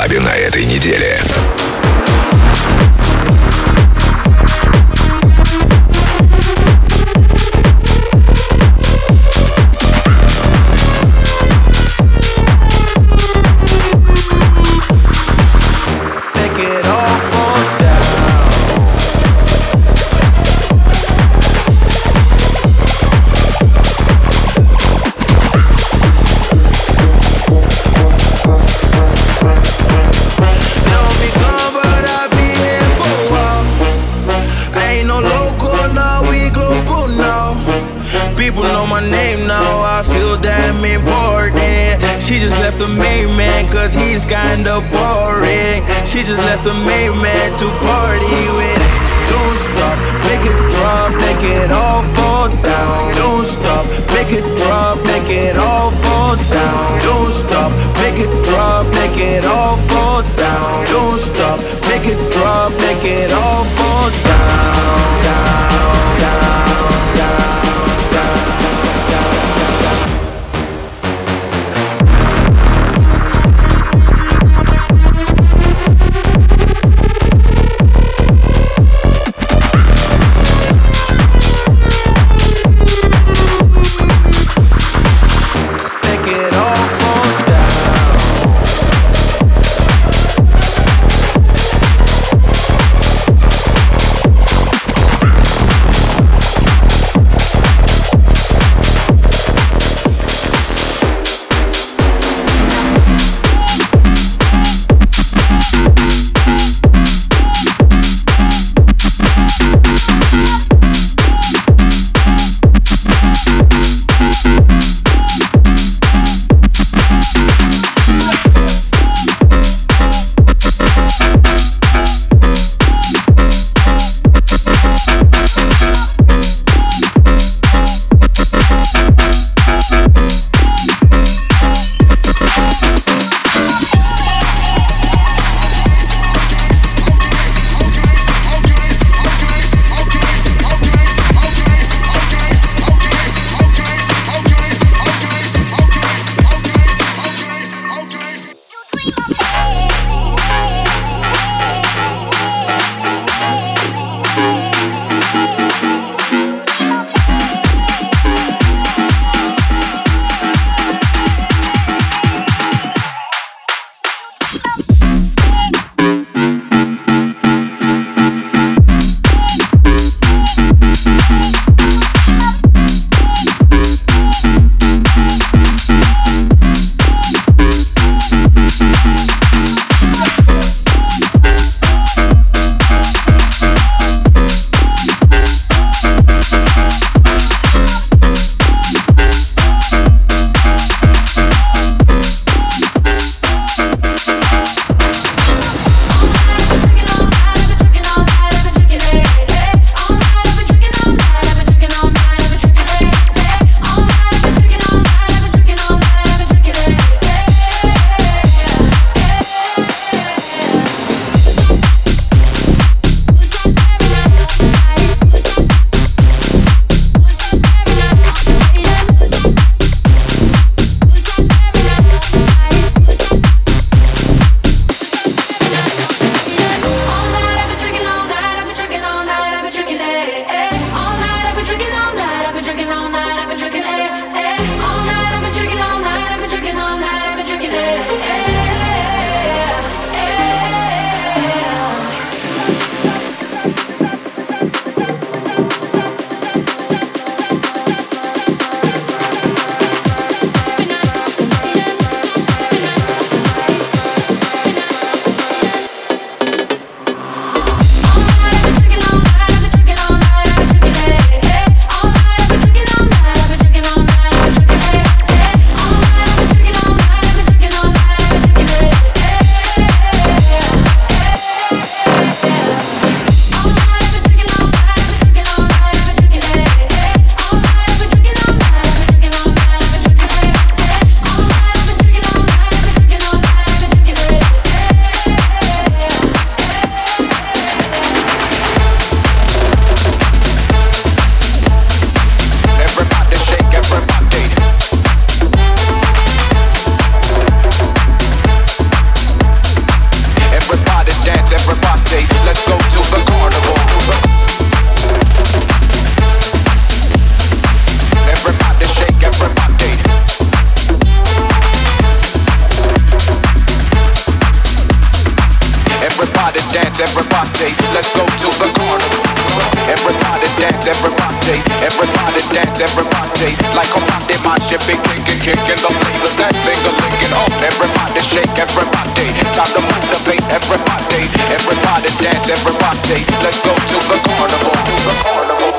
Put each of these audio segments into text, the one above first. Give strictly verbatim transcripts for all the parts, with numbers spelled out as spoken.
клабе на этой неделе. She just left the main man cause he's kinda boring. She just left the main man to party with. Don't stop, make it drop, make it all fall down. Don't stop, make it drop, make it all fall down. Don't stop, make it drop, make it all fall down. Don't stop, make it drop, make it all fall down, down, down, down. let's go to the carnival. Everybody dance, everybody, everybody dance, everybody. Like a body, my shit be kicking, kicking the flavors, that finger licking on. Everybody shake, everybody, time to motivate, everybody. Everybody dance, everybody, let's go to the carnival, the carnival.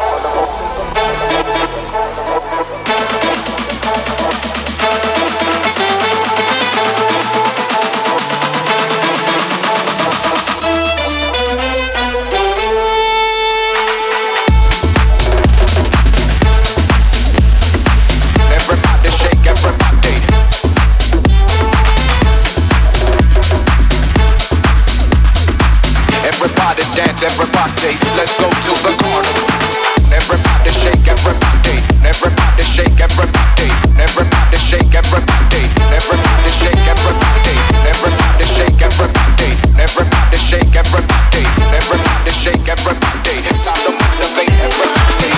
Everybody, let's go to the carnival. Everybody shake, everybody. Everybody shake, everybody. Everybody shake, everybody. Everybody shake, everybody. Everybody shake, everybody. Everybody shake, everybody. Everybody shake, everybody. Time to motivate everybody.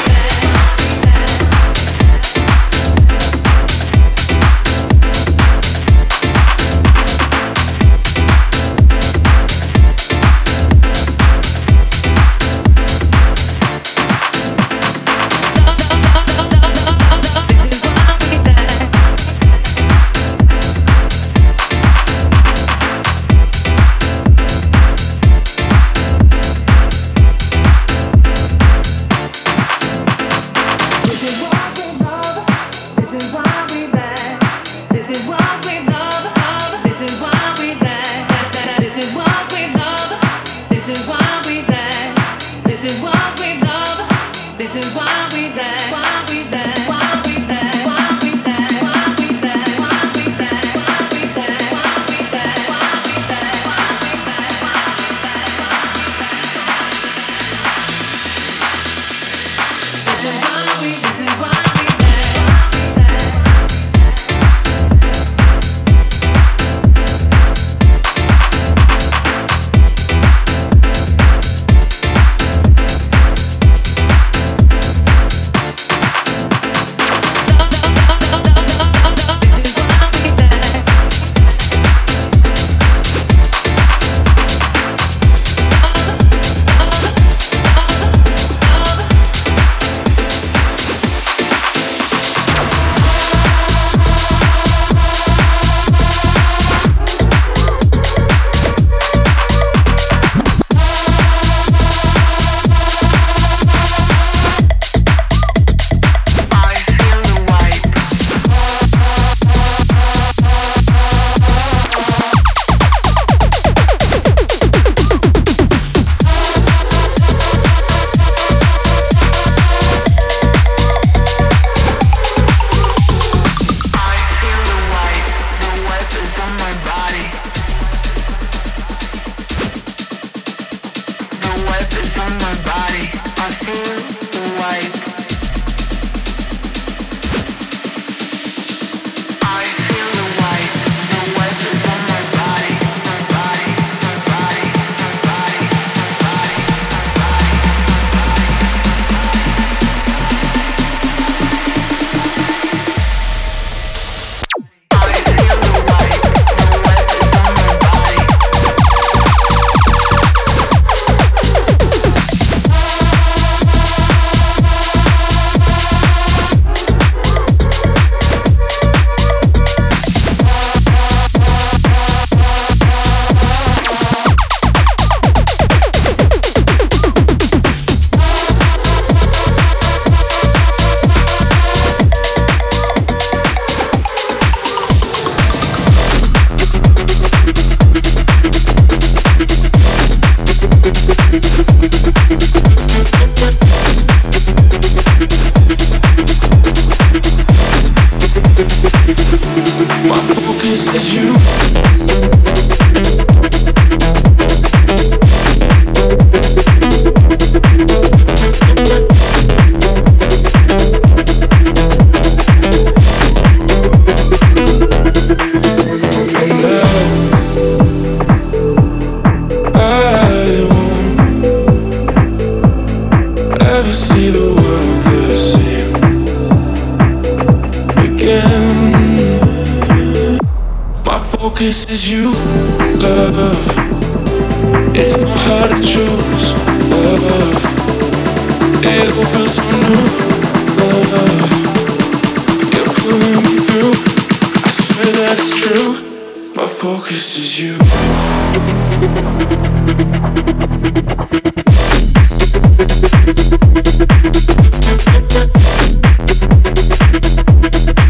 Focus is you, love. It's not hard to choose, love. It all feels so new, love. You're pulling me through. I swear that it's true. My focus is you.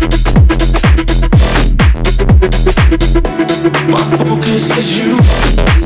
My focus is you.